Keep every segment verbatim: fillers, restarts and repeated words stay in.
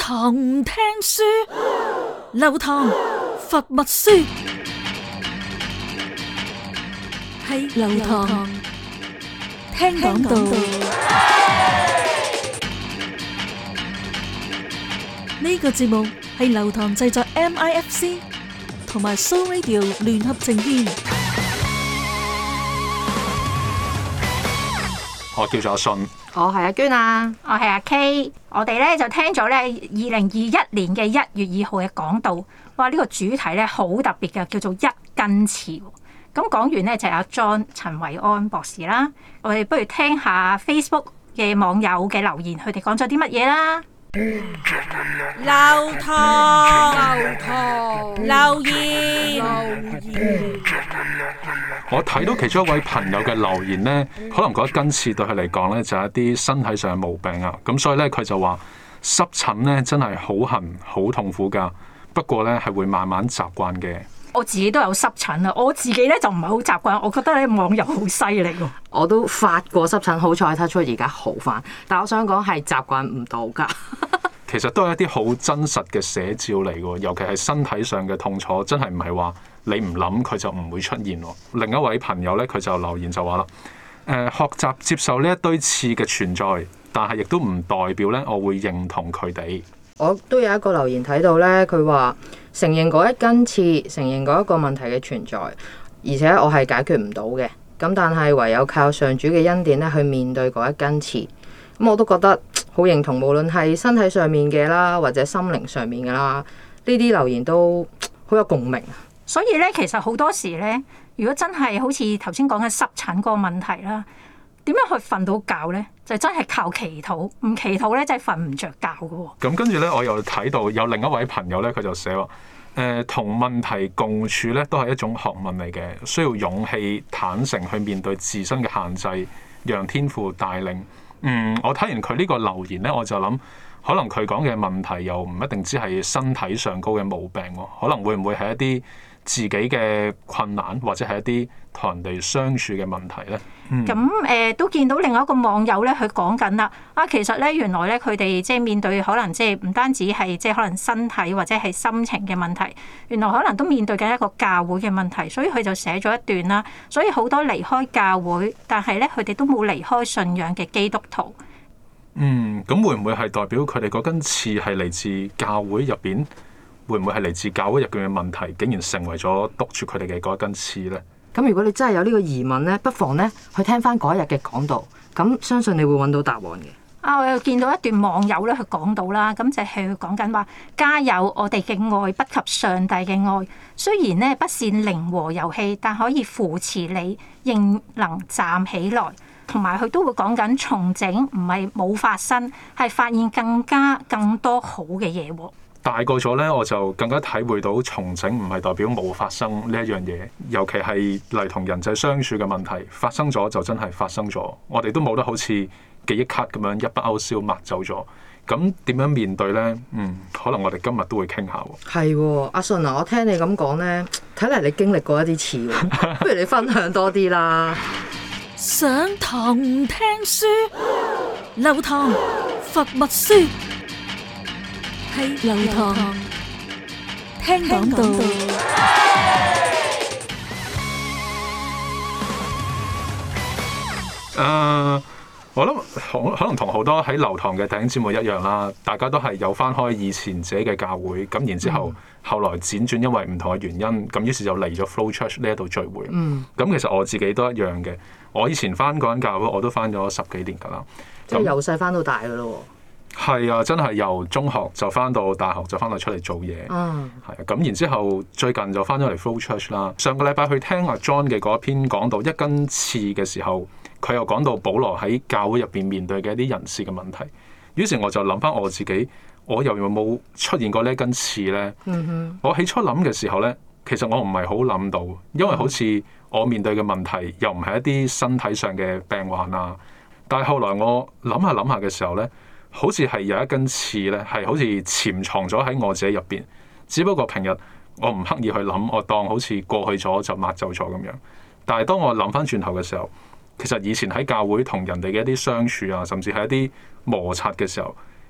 堂唔聽書，流堂罰密書，喺流堂聽講道。呢個節目係流堂製作 M I F C 同埋 Soul Radio 聯合呈現。 我叫做阿信， 我係阿娟啊， 我係阿 K。我哋咧就聽咗咧二零二一年嘅一月二號嘅講道，哇！呢、這個主題咧好特別嘅，叫做一根刺。咁講完咧就係阿 John 陳維安博士啦。我哋不如聽下 Facebook 嘅網友嘅留言，佢哋講咗啲乜嘢啦？ 流堂，流堂，留言，留言。 我睇到其中一位朋友嘅留言呢，可能嗰一根刺對佢嚟講呢，就係一啲身體上嘅毛病啊。咁所以呢，佢就話濕疹呢真係好痕、好痛苦㗎。不過呢，係會慢慢習慣嘅。 我自己都有濕疹啊，我自己咧就唔係好習慣。我覺得咧網友好犀利喎。 我都發過濕疹，好彩睇出而家好返。但我想講係習慣唔到㗎。 其實都係一啲好真實嘅寫照嚟㗎，尤其係身體上嘅痛楚，真係唔係話你唔諗佢就唔會出現。另一位朋友咧，佢就留言就話啦：誒、呃，學習接受呢一堆刺嘅存在，但係亦都唔代表咧我會認同佢哋。 我都有一個留言睇到咧，佢話承認嗰一根刺，承認嗰一個問題嘅存在，而且我係解決唔到嘅。咁但係唯有靠上主嘅恩典咧去面對嗰一根刺。咁我都覺得好認同，無論係身體上面嘅啦，或者心靈上面嘅啦，呢啲留言都好有共鳴。 所以咧，其實好多時咧，如果真係好似頭先講嘅濕疹嗰個問題啦，點樣去瞓到覺咧？就真係靠祈禱，唔祈禱咧，真係瞓唔着覺㗎喎。 咁跟住咧，我又睇到有另一位朋友咧，佢就寫話：誒、呃，同問題共處咧，都係一種學問嚟嘅，需要勇氣、坦誠去面對自身嘅限制，讓天父帶領。嗯，我睇完佢呢個留言咧，我就諗，可能佢講嘅問題又唔一定只係身體上高嘅毛病喎，可能會唔會係一啲自己嘅困難，或者係一啲同人哋相處嘅問題咧？ 咁誒、嗯呃、都見到另外一個網友咧，佢講緊啦，啊其實咧原來咧佢哋即係面對可能即係唔單止係即係可能身體或者係心情嘅問題，原來可能都面對緊一個教會嘅問題，所以佢就寫咗一段啦。所以好多離開教會，但係咧佢哋都冇離開信仰嘅基督徒。 嗯，咁會唔會係代表佢哋嗰根刺係嚟自教會入邊？會唔會係嚟自教會入邊嘅問題，竟然成為咗督住佢哋嘅嗰一根刺咧？ 咁如果你真係有呢個疑問咧，不妨咧去聽翻嗰一日嘅講道，咁相信你會揾到答案嘅。 啊，我又見到一段網友咧，佢講到啦，咁就係佢講緊話，加油！我哋嘅愛不及上帝嘅愛，雖然咧不是零和遊戲，但可以扶持你，仍能站起來。同埋佢都會講緊重整，唔係冇發生，係發現更加更多好嘅嘢喎。 大個咗咧，我就更加體會到重整唔係代表冇發生呢一樣嘢，尤其係嚟同人際相處嘅問題發生咗就真係發生咗，我哋都冇得好似記憶卡咁樣一筆勾銷抹走咗。咁點樣面對咧？嗯，可能我哋今日都會傾下喎。 係喎，阿信啊，我聽你咁講咧，睇嚟你經歷過一啲次喎，不如你分享多啲啦。 上堂唔聽書，流堂罰密書。喺流堂聽講道。 誒、uh，我諗可可能同好多喺流堂嘅弟兄姊妹一樣啦，大家都係有翻開以前自己嘅教會，咁然之後、嗯、後來輾轉因為唔同嘅原因，咁於是就嚟咗 Flow Church 呢一度聚會。嗯，咁其實我自己都一樣嘅，我以前翻嗰間教會我都翻咗十幾年㗎啦， 即係由細翻到大㗎咯。 係啊，真係由中學就翻到大學，就翻到出嚟做嘢。嗯，係啊，咁然之後最近就翻咗嚟 Flow Church 啦。上個禮拜去聽阿 John 嘅嗰篇講到一根刺嘅時候，佢又講到保羅喺教會入邊面，面對嘅一啲人事嘅問題。於是我就諗翻我自己，我又有冇出現過呢一根刺咧？嗯哼，我起初諗嘅時候咧，其實我唔係好諗到，因為好似我面對嘅問題又唔係一啲身體上嘅病患啊。但係後來我諗下諗下嘅時候咧，好似係有一根刺咧，係好似潛藏咗喺我自己入邊。只不過平日我唔刻意去諗，我當好似過去咗就抹走咗咁樣。但係當我諗翻轉頭嘅時候，其實以前喺教會同人哋嘅一啲相處啊，甚至係一啲摩擦嘅時候，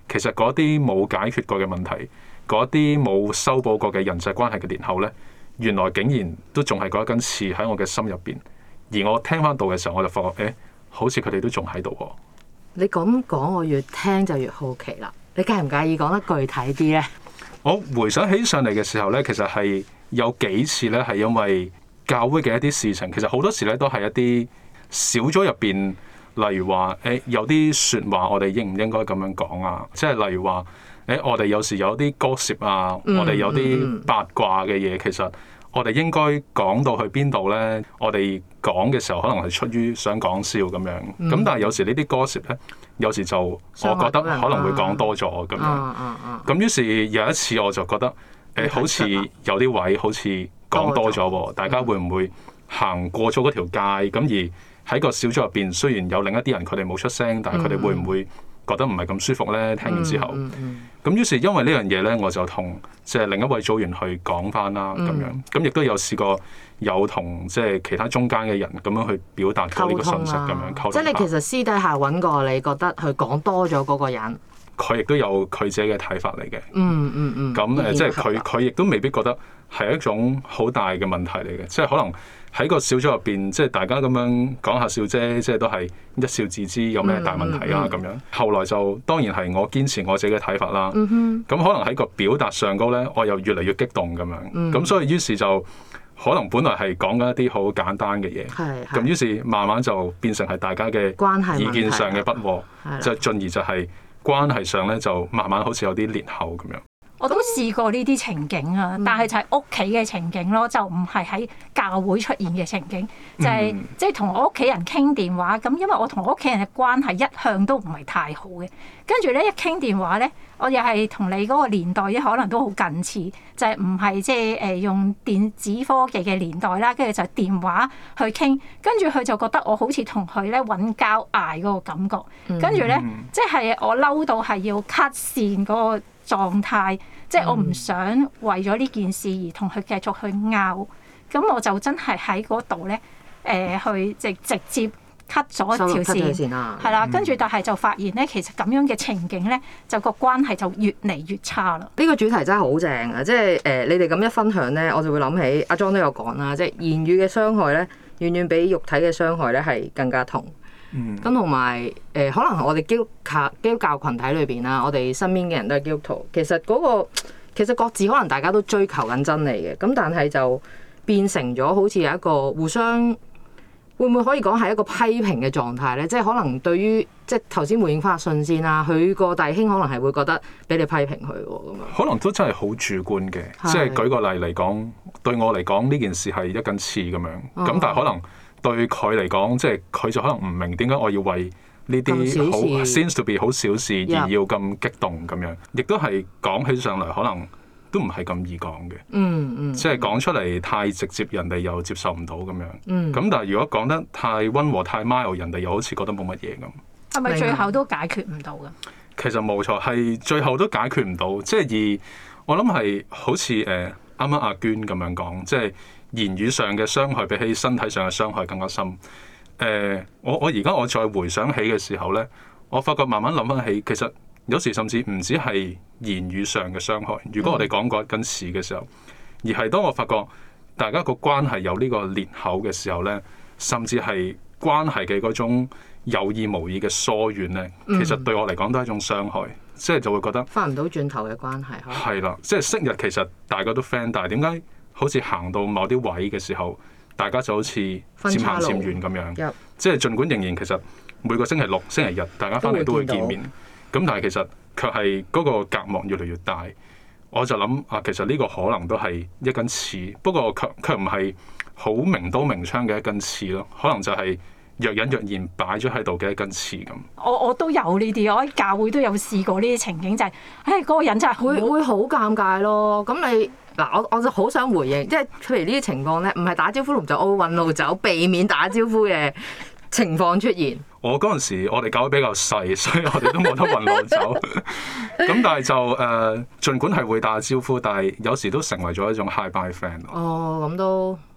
其實嗰啲冇解決過嘅問題，嗰啲冇修補過嘅人際關係嘅裂口咧，原來竟然都仲係嗰一根刺喺我嘅心入邊。而我聽翻到嘅時候，我就發覺，誒、欸，好似佢哋都仲喺度喎。 你咁講，我越聽就越好奇啦。你介唔介意講得具體啲咧？ 我回想起上嚟嘅時候咧，其實係有幾次咧，係因為教會嘅一啲事情，其實好多時咧都係一啲小組入邊，例如話，誒、欸、有啲説話我哋應唔應該咁樣講啊？即係例如話，誒、欸、我哋有時有啲gossip啊，嗯、我哋有啲八卦嘅嘢，其實我哋應該講到去邊度咧？我哋講嘅時候可能係出於想講笑咁樣，咁、嗯、但係有時呢啲gossip咧，有時就我覺得可能會講多咗咁樣。咁、啊啊啊、於是有一次我就覺得，誒、欸、好似有啲位好似講多咗喎，大家會唔會行過咗嗰條界？咁而喺個小組入邊，雖然有另一啲人佢哋冇出聲，但係佢哋會唔會覺得唔係咁舒服咧？聽完之後，咁、嗯嗯嗯、於是因為呢樣嘢咧，我就同即係另一位組員去講翻啦，咁樣咁亦都有試過有同即係其他中間嘅人咁樣去表達過呢個信息咁樣溝通。即係你其實私底下揾過，你覺得佢講多咗嗰個人， 佢亦都有佢自己嘅睇法嚟嘅。 嗯嗯嗯。咁、 嗯、誒，即係佢佢亦都未必覺得係一種好大嘅問題嚟嘅，即係可能。喺個小組入邊，即係大家咁樣講下笑啫，即係都係一笑置之，有咩大問題啊咁樣。後來就當然係我堅持我自己嘅睇法啦。咁可能喺個表達上高咧，我又越嚟越激動咁樣。咁所以於是就可能本來係講緊一啲好簡單嘅嘢，咁於是慢慢就變成係大家嘅意見上嘅不和，就進而就係關係上咧就慢慢好似有啲裂口咁樣。 我都試過呢啲情景啊，但係就係屋企嘅情景咯，就唔係喺教會出現嘅情景，就係即係同我屋企人傾電話咁，因為我同我屋企人嘅關係一向都唔係太好嘅。跟住咧一傾電話咧，我又係同你嗰個年代咧可能都好近似，就係唔係即係誒用電子科技嘅年代啦，跟住就電話去傾，跟住佢就覺得我好似同佢咧揾交嗌嗰個感覺，跟住咧即係我嬲到係要 cut 線嗰個狀態，即係我唔想為咗呢件事而同佢繼續去拗，咁我就真係喺嗰度咧，誒、呃、去直直接 cut 咗條線，係啦，跟住但係就發現咧，其實咁樣嘅情景咧，就個關係就越嚟越差啦。呢個主題真係好正啊！即係誒、呃，你哋咁一分享咧，我就會諗起阿 John 都有講啦，即係言語嘅傷害咧，遠遠比肉體嘅傷害咧係更加痛。咁同埋誒，可能我哋基督教基督教羣體裏邊啦，我哋身邊嘅人都係基督徒。其實嗰個其實各自可能大家都追求緊真理嘅，咁但係就變成咗好似有一個互相會唔會可以講係一個批評嘅狀態咧？即係可能對於即係頭先回應翻阿信先啦，佢個弟兄可能係會覺得俾你批評佢喎咁樣。 可能都真係好主觀嘅，即係舉個例嚟講，對我嚟講呢件事係一根刺咁樣，咁但係可能。對佢嚟講，即係佢就可能唔明點解我要為呢啲好 seems to be 好小事而要咁激動咁樣，亦都係講起上嚟可能都唔係咁易講嘅。 嗯嗯， 即係講出嚟太直接，人哋又接受唔到咁樣。 嗯， 咁但係如果講得太溫和、太 mild，人哋又好似覺得冇乜嘢咁。 係咪最後都解決唔到㗎？ 其實冇錯，係最後都解決唔到。即係而我諗係好似誒啱啱阿娟咁樣講，即係。言語上嘅傷害比起身體上嘅傷害更加深。誒、呃，我我而家我再回想起嘅時候咧，我發覺慢慢諗翻起，其實有時甚至唔止係言語上嘅傷害。如果我哋講過一根刺嘅時候，而係當我發覺大家個關係有呢個裂口嘅時候咧，甚至係關係嘅嗰種有意無意嘅疏遠咧，其實對我嚟講都係一種傷害。即係就會覺得翻唔到轉頭嘅關係。 係啦，即係昔日其實大家都 friend，但係點解？好似行到某啲位嘅時候，大家就好似漸行漸遠咁樣。即係儘管仍然其實每個星期六、星期日大家翻嚟都會見面，咁但係其實卻係嗰個隔膜越嚟越大。我就諗啊，其實呢個可能都係一根刺，不過卻卻唔係好明刀明槍嘅一根刺咯。可能就係若隱若現擺咗喺度嘅一根刺咁。 我我都有呢啲，我喺教會都有試過呢啲情景，就係唉嗰個人真係會會好尷尬咯。咁你嗱，我我就好想回應，即係譬如呢啲情況咧，唔係打招呼同就奧運路走，避免打招呼嘅情況出現。 我嗰陣時，我哋教會比較細，所以我哋都冇得運路走。咁但係就誒、呃，儘管係會打招呼，但係有時都成為咗一種 hi bye friend。 哦，咁都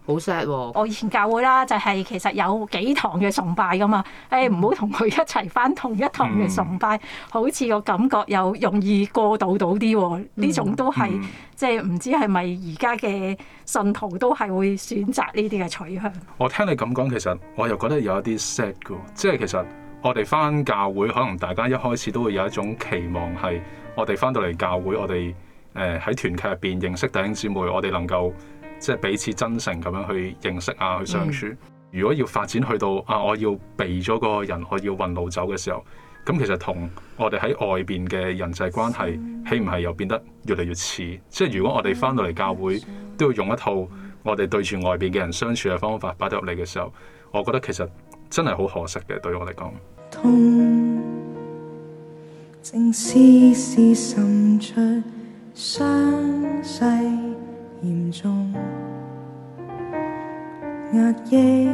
好 sad 喎！ 我以前教會啦，就係其實有幾堂嘅崇拜噶嘛，誒唔好同佢一齊返同一堂嘅崇拜，嗯、好似個感覺又容易過渡到啲喎。呢、嗯、種都係、嗯、即係唔知係咪而家嘅信徒都係會選擇呢啲嘅取向。 我聽你咁講，其實我又覺得有一啲 sad 嘅，即係其實我哋返教會，可能大家一開始都會有一種期望係，我哋返到嚟教會，我哋誒喺團契入邊認識弟兄姊妹，我哋能夠。即係彼此真誠咁樣去認識啊，去相處。嗯、如果要發展去到啊，我要避咗嗰個人，我要運路走嘅時候，咁其實同我哋喺外邊嘅人際關係，豈唔係又變得越嚟越似？即係如果我哋翻到嚟教會，都要用一套我哋對住外邊嘅人相處嘅方法擺入嚟嘅時候，我覺得其實真係好可惜嘅，對我嚟講。痛，正絲絲滲出傷勢。嚴重壓抑，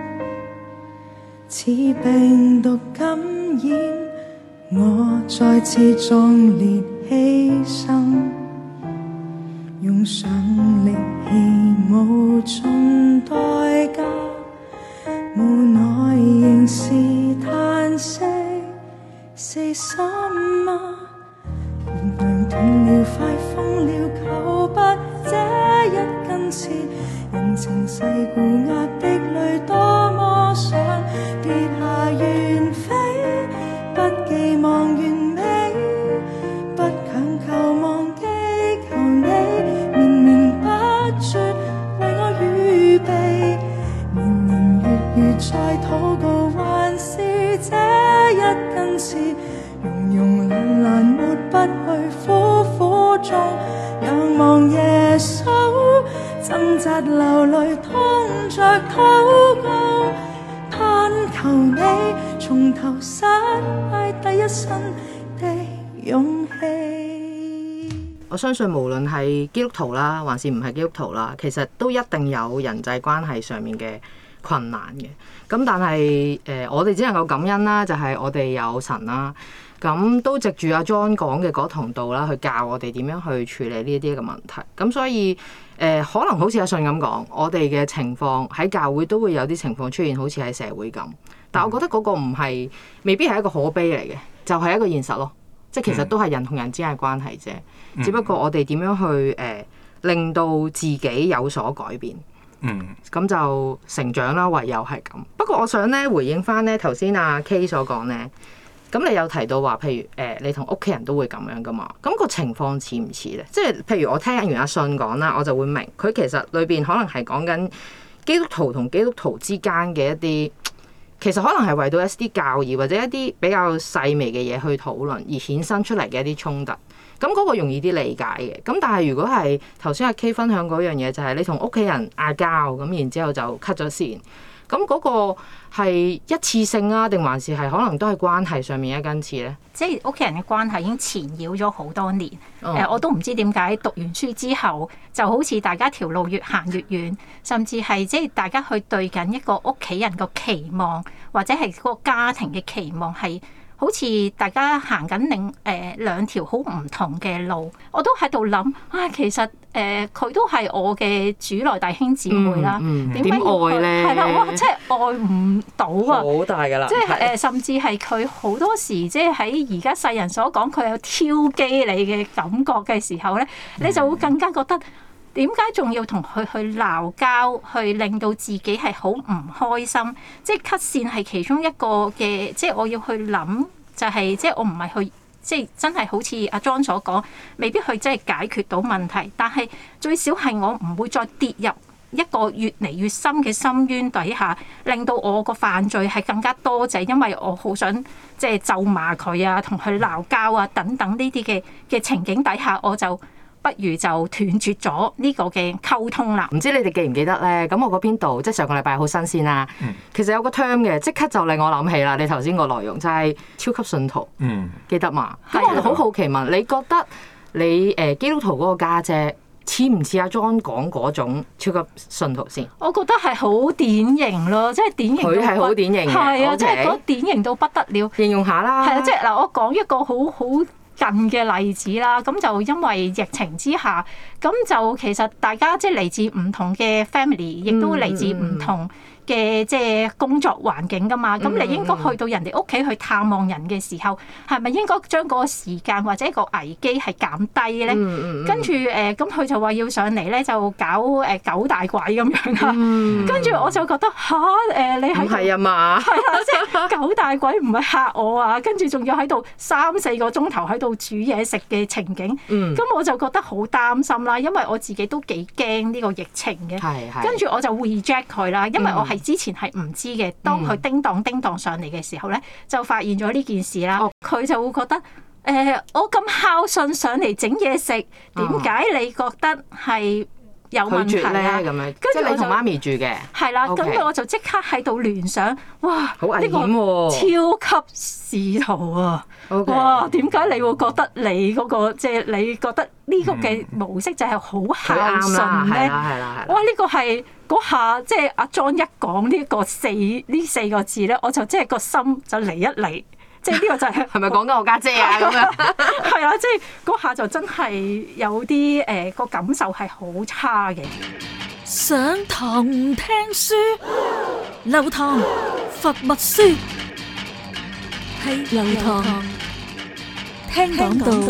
似病毒感染，我再次壯烈犧牲，用上力氣無盡代價，無奈仍是嘆息，死心嗎？燃亮斷了，快瘋了，求不這一根刺，人情世故壓迫裏，多麼想跌下遠飛，不寄望完美，不強求忘記，求你綿綿不絕為我預備，年年月月再禱告，還是這一根刺，庸庸懶懶抹不去，苦苦中仰望耶穌，掙扎流淚，痛着禱告，盼求你從頭失敗第一身的勇氣。 我相信無論係基督徒啦，還是唔係基督徒啦，其實都一定有人際關係上面嘅困難嘅。咁但係誒、呃，我哋只能夠感恩啦，就係、是、我哋有神啦。咁都藉住阿 John 講嘅嗰堂道啦，去教我哋點樣去處理呢啲嘅問題。咁所以誒、呃，可能好似阿信咁講，我哋嘅情況喺教會都會有啲情況出現，好似喺社會咁。但我覺得嗰個唔係，未必係一個可悲嚟嘅，就係、是、一個現實咯。即係其實都係人同人之間嘅關係啫。只不過我哋點樣去誒、呃，令到自己有所改變。嗯。咁就成長啦，唯有係咁。不過我想咧回應翻咧頭先阿 K 所講咧。咁你有提到話，譬如誒、呃，你同屋企人都會咁樣噶嘛？咁、那個情況似唔似咧？即係譬如我聽完阿信講啦，我就會明佢其實裏邊可能係講緊基督徒同基督徒之間嘅一啲，其實可能係為到一啲教義或者一啲比較細微嘅嘢去討論而衍生出嚟嘅一啲衝突。咁、那、嗰個容易啲理解嘅。咁但係如果係頭先阿 K 分享嗰樣嘢，就係你同屋企人嗌交咁，然之後就 cut 咗線。咁嗰個係一次性啊，定還是係可能都係關係上面一根刺咧？ 即係屋企人嘅關係已經纏繞咗好多年。誒、 哦呃，我都唔知點解讀完書之後，就好似大家條路越行越遠，甚至係即係大家去對緊一個屋企人個期望，或者係嗰個家庭嘅期望係。好似大家行緊另誒兩條好唔同嘅路，我都喺度諗啊，其實誒佢、呃、都係我嘅主內弟兄姊妹啦，點解、嗯嗯、愛咧？係啦，哇！真係愛唔到啊，好大㗎啦！即係誒，呃、甚至係佢好多時，即係喺而家世人所講，佢有挑機你嘅感覺嘅時候咧，你就會更加覺得。點解仲要同佢去鬧交，去令到自己係好唔開心？即係 cut 線係其中一個嘅，即係我要去諗，就係即係我唔係去，即係真係好似阿 John 所講，未必去真係解決到問題，但係最少係我唔會再跌入一個越嚟越深嘅深淵底下，令到我個犯罪係更加多，就係因為我好想即係咒罵佢啊，同佢鬧交啊等等呢啲嘅嘅情景底下，我就。不如就斷絕咗呢個嘅溝通啦。唔知你哋記唔記得咧？咁我嗰篇道即係上個禮拜好新鮮啦。嗯、其實有個 term 嘅，即刻就令我諗起啦。你頭先個內容就係超級信徒，嗯、記得嘛？咁我好好奇問，你覺得你誒基督徒嗰個家姐似唔似阿 John 講嗰種超級信徒先？我覺得係好典型咯，即係典型。佢係好典型嘅，係啊，即係嗰典型到不得了。形容下啦。係啊，即係嗱，我講一個好好。 近嘅例子啦。咁就因為疫情之下，咁就其實大家即係嚟自唔同嘅 family，亦都嚟自唔同嘅即係工作環境噶嘛。咁你應該去到人哋屋企去探望人嘅時候，係咪應該將嗰個時間或者個危機係減低咧？跟住誒，咁佢就話要上嚟咧，就搞誒九大鬼咁樣啦。跟住我就覺得吓，誒，你喺係啊嘛？ 係啊，即係九大鬼唔係嚇我啊！跟住仲要喺度三四個鐘頭喺度煮嘢食嘅情景，咁、嗯、我就覺得好擔心啦，因為我自己都幾驚呢個疫情嘅。跟住我就 reject 佢啦，因為我係之前係唔知嘅。當佢叮當叮當上嚟嘅時候咧，就發現咗呢件事啦。佢、哦、就會覺得誒、呃，我咁孝順上嚟整嘢食，點解你覺得係有問題啊？咁樣， 即係你同媽咪住嘅。 係啦，咁 Okay. 我就即刻喺度聯想，哇！ 好危險喎！ 超級使徒啊！Okay. 哇！點解你會覺得你嗰、嗰個即係、即係、你覺得呢個嘅模式就係好孝順咧？哇！呢個係嗰下即係阿 John 一講呢個四呢四個字咧，我就即係個心就嚟一嚟。即係呢個就係係咪講緊我家姐啊？咁樣係啊！即係嗰下就真係有啲誒個感受係好差嘅。 上堂唔聽書，流堂罰默書，係流堂聽講道。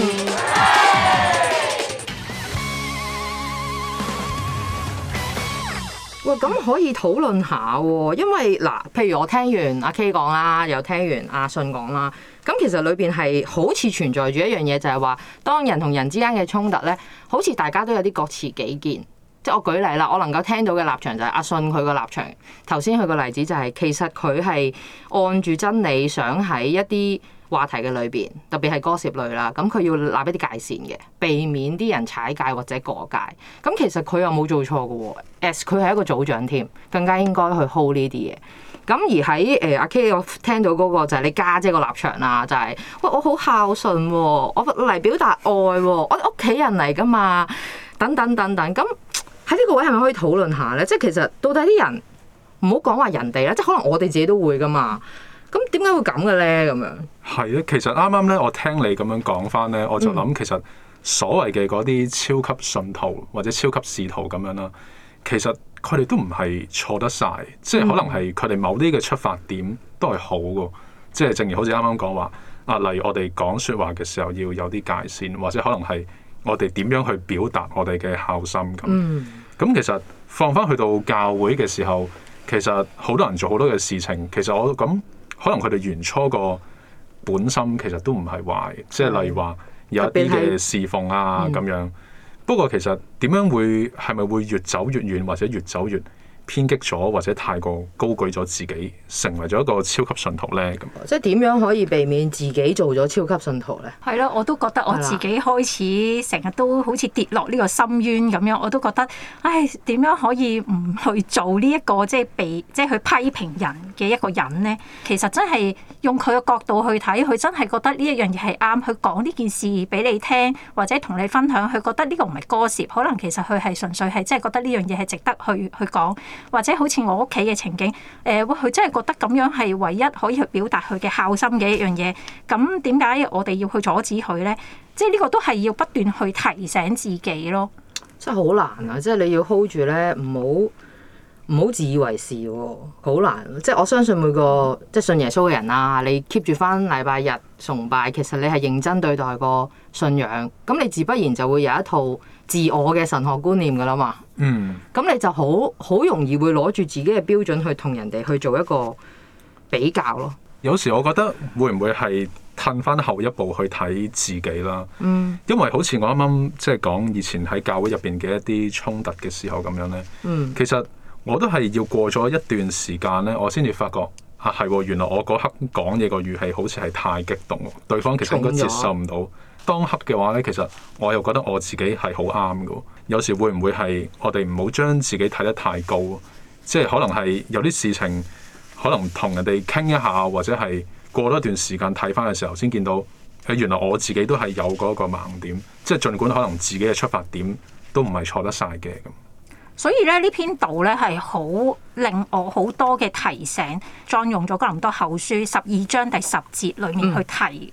喂，咁可以討論下喎，因為嗱，譬如我聽完阿 K 講啦，又聽完阿信講啦，咁其實裏邊係好似存在住一樣嘢，就係話當人同人之間嘅衝突咧，好似大家都有啲各持己見。即係我舉例啦，我能夠聽到嘅立場就係阿信佢個立場。頭先佢個例子就係其實佢係按住真理想喺一啲話題嘅裏邊，特別係歌涉類啦，咁佢要立一啲界線嘅，避免啲人踩界或者過界。咁其實佢又冇做錯嘅喎，as 佢係一個組長添，更加應該去 hold 呢啲嘢。咁而喺誒阿 K 我聽到嗰個就係你家姐個立場啦，就係、是、喂我好孝順喎，我嚟表達愛喎，我哋屋企人嚟噶嘛，等等等等。咁喺呢個位係咪可以討論下咧？即係其實到底啲人唔好講話人哋啦，即係可能我哋自己都會噶嘛。咁點解會咁嘅咧？咁樣係啊，其實啱啱咧，我聽你咁樣講翻咧，我就諗其實所謂嘅嗰啲超級信徒或者超級使徒咁樣啦，其實佢哋都唔係錯得晒，即係可能係佢哋某啲嘅出發點都係好嘅，即係正如好似啱啱講話啊，例如我哋講説話嘅時候要有啲界線，或者可能係我哋點樣去表達我哋嘅孝心咁。咁、嗯、其實放翻去到教會嘅時候，其實好多人做好多嘅事情，其實我咁。可能佢哋原初個本心其實都唔係壞，即係例如話有一啲嘅侍奉啊咁樣。嗯、不過其實點樣會係咪會越走越遠，或者越走越偏激咗，或者太過高舉咗自己，成為咗一個超級信徒咧？咁即係點樣可以避免自己做咗超級信徒咧？ 係咯，我都覺得我自己開始成日都好似跌落呢個深淵咁樣，我都覺得，唉，點樣可以唔去做呢、這、一個即係被即係去批評人嘅一個人咧？其實真係用佢嘅角度去睇，佢真係覺得呢一樣嘢係啱，佢講呢件事俾你聽，或者同你分享，佢覺得呢個唔係歌舌，可能其實佢係純粹係即係覺得呢樣嘢係值得去去講。或者好似我屋企嘅情景，誒、呃，佢真係覺得咁樣係唯一可以去表達佢嘅孝心嘅一樣嘢。咁點解我哋要去阻止佢咧？即係呢個都係要不斷去提醒自己咯。 真係好難啊！即係你要 hold 住咧，唔好唔好自以為是喎，好難。即係我相信每個即係信耶穌嘅人啊，你 keep 住翻禮拜日崇拜，其實你係認真對待個信仰，咁你自不然就會有一套自我嘅神學觀念噶啦嘛。嗯，咁你就好好容易會攞住自己嘅標準去同人哋去做一個比較咯。 有時我覺得會唔會係褪翻後一步去睇自己啦？嗯，因為好似我啱啱即係講以前喺教會入邊嘅一啲衝突嘅時候咁樣咧。嗯，其實我都係要過咗一段時間咧，我先至發覺啊，係原來我嗰刻講嘢個語氣好似係太激動，對方其實應該接受唔到。當刻嘅話咧，其實我又覺得我自己係好啱嘅。有時會唔會係我哋唔好將自己睇得太高？即係可能係有啲事情，可能同人哋傾一下，或者係過多一段時間睇翻嘅時候，先見到誒原來我自己都係有嗰個盲點。即係儘管可能自己嘅出發點都唔係錯得晒嘅咁。 所以咧，呢篇道咧係好令我好多嘅提醒，再用咗哥林多後書十二章第十節裡面去提。嗯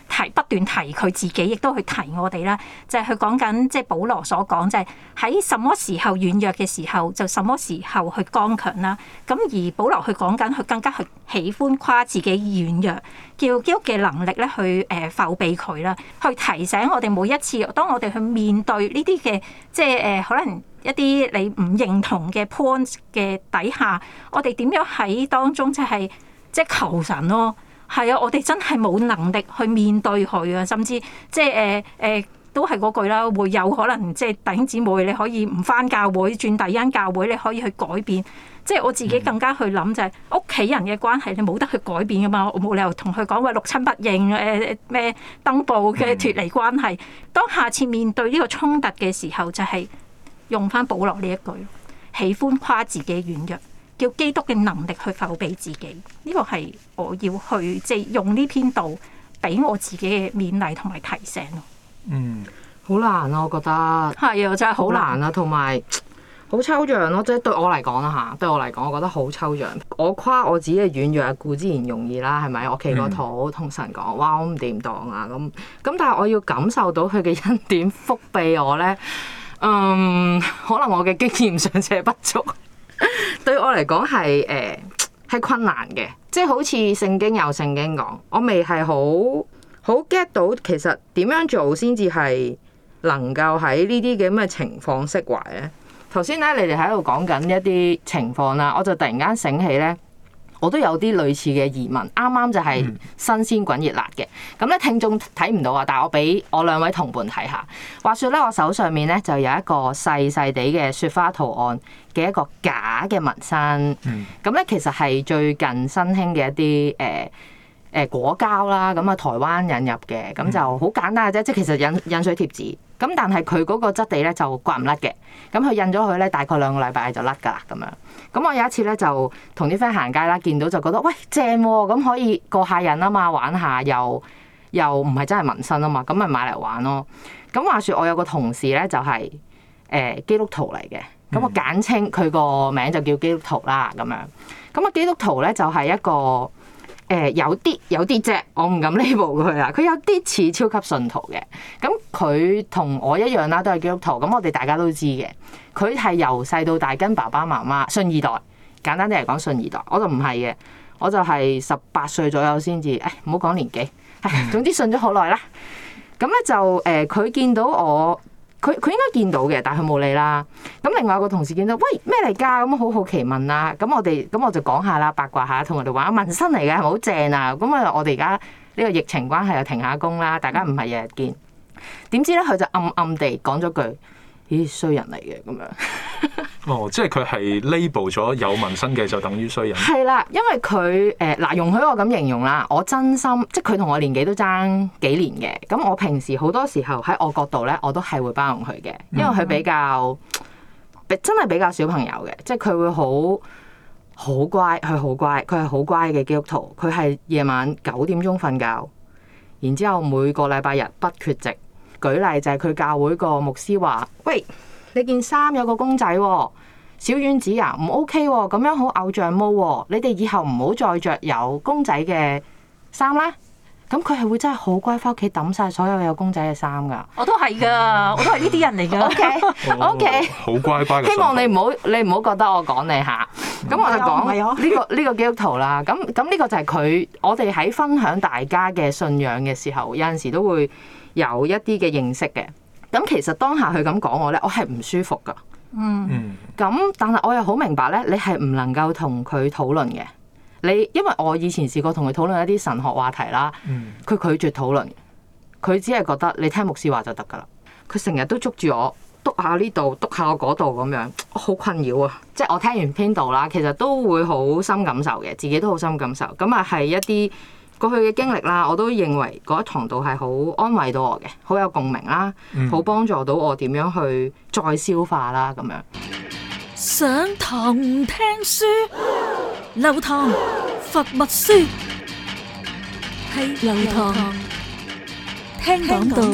提不斷提佢自己，亦都去提我哋啦。就係佢講緊，即係保羅所講，就係喺什麼時候軟弱嘅時候，就什麼時候去剛強啦。咁而保羅佢講緊，佢更加去喜歡誇自己軟弱，叫基督嘅能力咧去誒覆庇佢啦，去提醒我哋每一次，當我哋去面對呢啲嘅即係誒可能一啲你唔認同嘅 point 嘅底下，我哋點樣喺當中即係即係求神咯。係啊，我哋真係冇能力去面對佢啊，甚至即係誒誒，都係嗰句啦，會有可能即係弟兄姊妹，你可以唔返教會，轉第二間教會，你可以去改變。即係我自己更加去諗就係屋企人嘅關係，你冇得去改變噶嘛，我冇理由同佢講話六親不認誒咩登報嘅脫離關係。當下次面對呢個衝突嘅時候，就係用返保羅呢一句，喜歡誇自己軟弱。叫基督嘅能力去覆庇自己，呢個係我要去即係用呢篇道俾我自己嘅勉勵同埋提醒咯。 嗯， 好難啊，我覺得係啊，真係好難啊，同埋好抽象咯。即係對我嚟講啦嚇，對我嚟講，我覺得好抽象。我誇我自己嘅軟弱，固之然容易啦，係咪？我企個肚同神講，哇，我唔掂當啊咁咁，但係我要感受到佢嘅恩典覆庇我咧，嗯，可能我嘅經驗尚且不足。對我嚟講係誒係困難嘅，即係好似聖經有聖經講，我未係好好 get 到其實點樣做先至係能夠喺呢啲嘅咁嘅情況釋懷咧。頭先咧你哋喺度講緊一啲情況啦，我就突然間醒起咧，我都有啲類似嘅疑問，啱啱就係新鮮滾熱辣嘅。咁咧聽眾睇唔到啊，但係我俾我兩位同伴睇下。話說咧，我手上面咧就有一個細細地嘅雪花圖案嘅一個假嘅紋身。咁咧其實係最近新興嘅一啲誒誒果膠啦，咁啊台灣引入嘅，咁就好簡單嘅啫，即係其實印印水貼紙。咁但係佢嗰個質地咧就刮唔甩嘅，咁佢印咗佢咧大概兩個禮拜就甩㗎啦咁樣。咁我有一次咧就同啲 friend 行街啦，見到就覺得喂正喎，咁可以過下癮啊嘛，玩下又又唔係真係紋身啊嘛，咁咪買嚟玩咯。咁話說我有個同事咧就係誒基督徒嚟嘅，咁我簡稱佢個名就叫基督徒啦咁樣。咁啊基督徒咧就係一個。誒、呃、有啲有啲啫，我唔敢 label 佢啊！佢有啲似超級信徒嘅，咁佢同我一樣啦，都係基督徒。咁我哋大家都知嘅，佢係由細到大跟爸爸媽媽信二代，簡單啲嚟講信二代。我就唔係嘅，我就係十八歲左右先至，誒唔好講年紀，誒總之信咗好耐啦。咁咧就誒，佢、呃、見到我。佢佢應該見到嘅，但係佢冇理啦。咁另外有個同事見到，喂咩嚟㗎？咁好好奇問啦。咁我哋咁我就講下啦，八卦下，同我哋話紋身嚟嘅，係咪好正啊？咁啊，我哋而家呢個疫情關係又停下工啦，大家唔係日日見。點知咧，佢就暗暗地講咗句：咦，衰人嚟嘅咁樣。 哦，即係佢係 label 咗有紋身嘅就等於衰人。係啦，因為佢誒嗱，容許我咁形容啦。我真心即係佢同我年紀都爭幾年嘅。咁我平時好多時候喺我角度咧，我都係會包容佢嘅，因為佢比較、嗯、真係比較小朋友嘅，即係佢會好好乖，佢好乖，佢係好乖嘅基督徒。佢係夜晚九點鐘瞓覺，然之後每個禮拜日不缺席。舉例就係佢教會個牧師話：喂，你件衫有個公仔喎，小丸子啊，唔 OK 喎，咁樣好偶像毛喎，你哋以後唔好再着有公仔嘅衫啦。咁佢係會真係好乖，翻屋企抌晒所有有公仔嘅衫㗎。我都係㗎，我都係呢啲人嚟㗎。OK，OK， 好乖乖。 希望你唔好你唔好覺得我講你嚇。咁我就講呢個呢個基督徒啦。咁咁呢個就係佢，我哋喺分享大家嘅信仰嘅時候，有陣時都會有一啲嘅認識嘅。咁其實當下佢咁講我咧，我係唔舒服㗎。嗯。咁但係我又好明白咧，你係唔能夠同佢討論嘅。你因為我以前試過同佢討論一啲神學話題啦，佢、嗯、拒絕討論，佢只係覺得你聽牧師話就得㗎啦。佢成日都捉住我，督下呢度，督下我嗰度咁樣，好困擾啊！即係我聽完篇道啦，其實都會好深感受嘅，自己都好深感受。咁啊係一啲過去嘅經歷啦，我都認為嗰一堂道係好安慰到我嘅，好有共鳴啦，好幫助到我點樣去再消化啦咁樣。 上堂唔聽書，流堂佛密書，係流堂聽講道。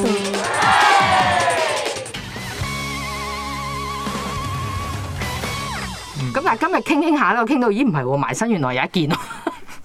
咁但係今日傾傾下咧，我傾到咦唔係喎，埋身原來有一件咯。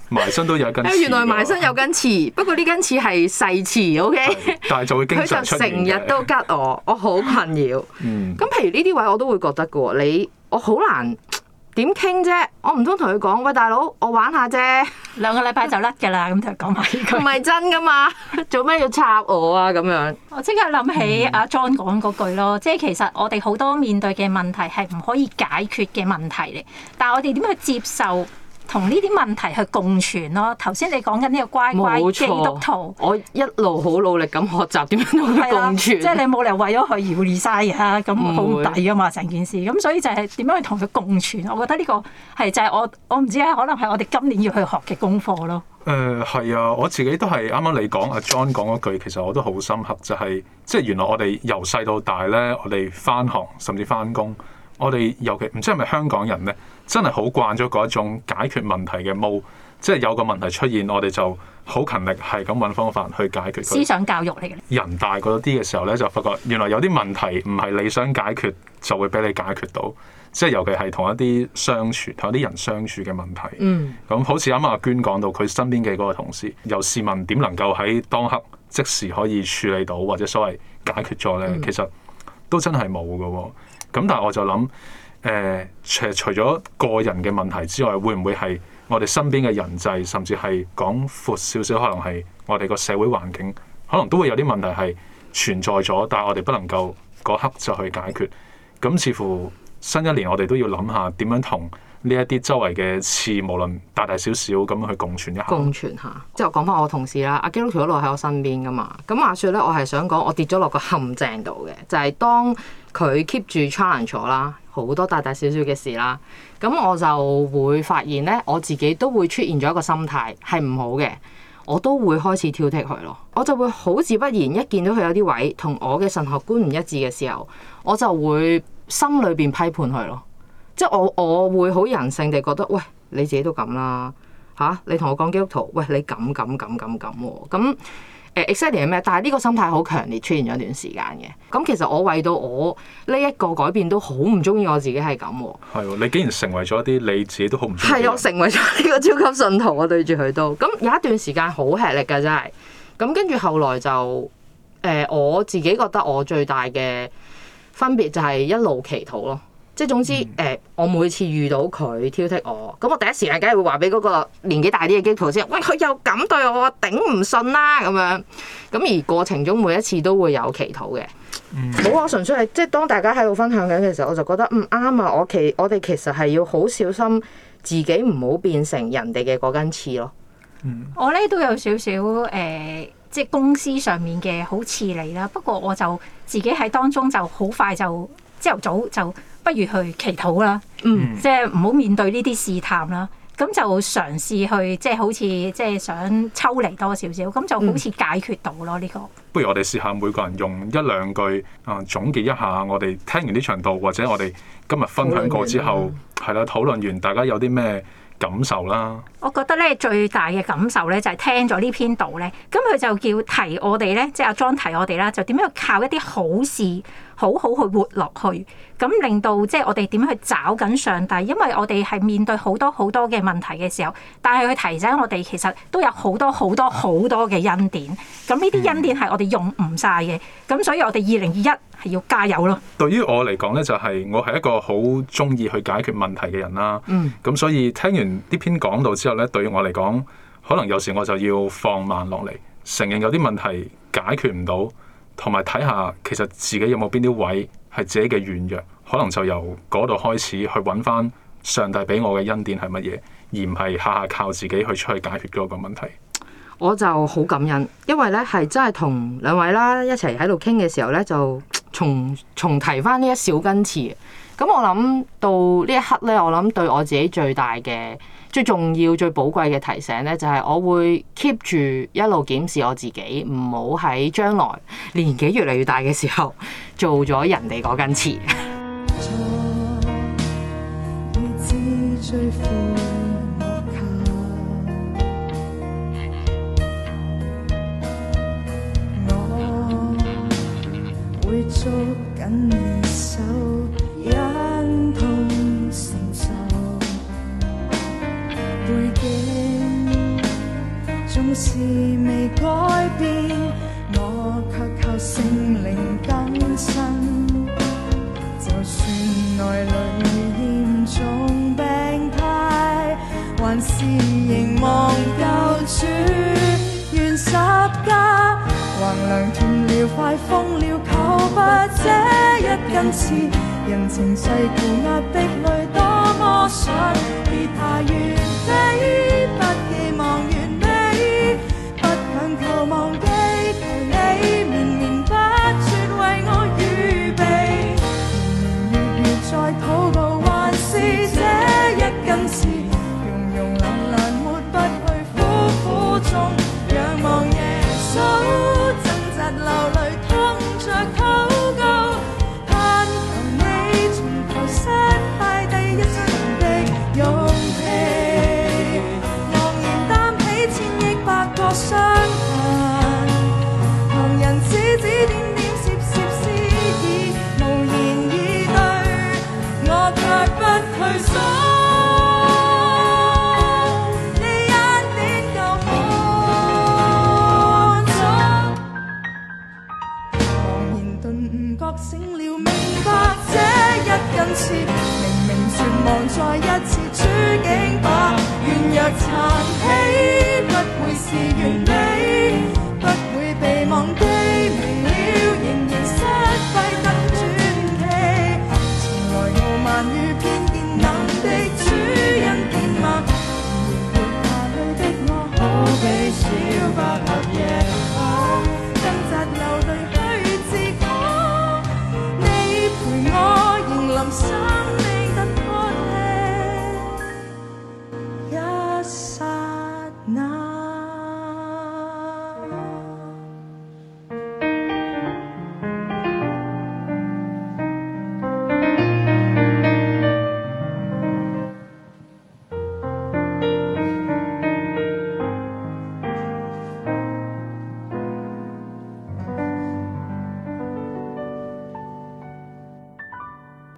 埋身都有一根刺。 原來埋身有根刺，不過呢根刺係細刺，O K。但係就會經常出現嘅。佢就成日都吉我，我好困擾。 嗯。 咁譬如呢啲位我都會覺得嘅喎，你我好難點傾啫？我唔通同佢講，喂大佬，我玩下啫， 兩個禮拜就甩㗎啦，咁就講埋呢句。 唔係真㗎嘛？做咩要插我啊？咁樣。 我即刻諗起阿 John 講嗰句咯，即係其實我哋好多面對嘅問題係唔可以解決嘅問題嚟，但係我哋點去接受同呢啲問題去共存咯？頭先你講緊呢個乖乖基督徒， 我一路好努力咁學習點樣同佢共存。 即係你冇理由為咗佢而 resign 啊，咁好唔抵啊嘛成件事。咁所以就係點樣去同佢共存？我覺得呢個係就係我我唔知啊，可能係我哋今年要去學嘅功課咯。 誒係、呃、啊，我自己都係啱啱你講阿 John 講嗰句，其實我都好深刻，就係、是、即係原來我哋由細到大咧，我哋返學甚至返工，我哋尤其唔知係咪香港人咧，真係好慣咗嗰一種解決問題嘅模，即係有個問題出現，我哋就好勤力係咁揾方法去解決佢。 思想教育嚟嘅。 人大嗰啲嘅時候咧，就發覺原來有啲問題唔係你想解決就會俾你解決到。即係尤其係同一啲相處、同一啲人相處嘅問題。嗯。咁好似啱啱阿娟講到，佢身邊嘅嗰個同事，又試問點能夠喺當刻即時可以處理到，或者所謂解決咗咧？嗯、其實都真係冇㗎喎。咁但係我就諗，誒、呃，除除咗個人嘅問題之外，會唔會係我哋身邊嘅人際，甚至係講闊少少，可能係我哋個社會環境，可能都會有啲問題係存在咗，但係我哋不能夠嗰刻就去解決。咁似乎新一年我哋都要諗下點樣同呢一啲周圍嘅刺，無論大大小小咁去共存一下。 共存下，即係我講翻我同事啦。阿基督徒一路喺我身邊噶嘛。咁話說咧，我係想講我跌咗落個陷阱度嘅，就係、是、當佢 keep 住 challenge 咗啦，好多大大小小嘅事啦。咁我就會發現咧，我自己都會出現咗一個心態係唔好嘅，我都會開始挑剔佢咯。我就會好自不然一見到佢有啲位同我嘅神學觀唔一致嘅時候，我就會心裏邊批判佢咯，即係我我會好人性地覺得，喂，你自己都咁啦嚇，你同我講基督徒，喂，你咁咁咁咁咁喎，咁誒 exactly 係咩？但係呢個心態好強烈出現咗一段時間嘅，咁其實我為到我呢一個改變都好唔中意我自己係咁喎。 係喎，你竟然成為咗一啲你自己都好唔中意。 係我成為咗呢個超級信徒，我對住佢都咁有一段時間好吃力㗎真係，咁跟住後來就誒、呃、我自己覺得我最大嘅分別就係一路祈禱咯，即係總之誒、呃，我每次遇到佢挑剔我，咁我第一時間梗係會話俾嗰個年紀大啲嘅基督徒先，喂，佢又咁對我，頂唔順啦咁樣。咁而過程中每一次都會有祈禱嘅。冇啊、嗯，純粹係即係當大家喺度分享緊嘅時候，我就覺得唔啱啊！我其我哋其實係要好小心自己唔好變成人哋嘅嗰根刺咯。 嗯、我咧都有少少誒。呃即係公司上面嘅好似你啦，不過我就自己喺當中就好快就朝頭早就不如去祈禱啦，嗯，即係唔好面對呢啲試探啦，咁就嘗試去即係好似即係想抽離多少少，咁就好似解決到咯呢、嗯、個。不如我哋試下每個人用一兩句啊總結一下，我哋聽完呢場道或者我哋今日分享過之後，係啦討論完，大家有啲咩感受啦？我覺得咧最大嘅感受咧就係聽咗呢篇道咧，咁佢就叫提我哋咧，即係阿 John 提我哋啦，就點樣靠一啲好事好好去活落去，咁令到即係我哋點樣去找緊上帝，因為我哋係面對好多好多嘅問題嘅時候，但係佢提醒我哋其實都有好多好多好多嘅恩典，咁呢啲恩典係我哋用唔晒嘅，咁所以我哋二零二一係要加油咯。對於我嚟講咧，就係我係一個好中意去解決問題嘅人啦。嗯，咁所以聽完呢篇講道之後咧，對於我嚟講，可能有時我就要放慢落嚟，承認有啲問題解決唔到，同埋睇下其實自己有冇邊啲位係自己嘅軟弱，可能就由嗰度開始去揾翻上帝俾我嘅恩典係乜嘢，而唔係下下靠自己去出去解決嗰個問題。我就好感恩，因為咧係真係同兩位啦一齊喺度傾嘅時候咧，就重重提翻呢一小根刺。咁我諗到呢一刻咧，我諗對我自己最大嘅、最重要、最寶貴嘅提醒咧，就係、是、我會 keep 住一路檢視我自己，唔好喺將來年紀越嚟越大嘅時候做咗人哋嗰根刺。會捉緊你手，忍痛承受背景。 縱是未改變，我卻靠聖靈更新。就算內裏嚴重病態，還是凝望救主。願十架橫梁斷了，快瘋了，求不這一根刺。人情世故壓迫裏，多麼想別怕完美，不寄望完美，不強求忘記，求你綿綿不絕為我預備。年年月月在禱告，還是這一根刺，庸庸懶懶抹不去苦苦中仰望耶穌，掙扎流淚痛着禱告，盼求你重頭失敗第一生的勇氣，昂然擔起千億百個傷痕，旁人指指點點攝攝私意，無言以對，我卻不退縮。醒了，明白這一根刺，明明絕望再一次處境吧，軟弱殘起，不會是完美，不會被忘記，明了仍然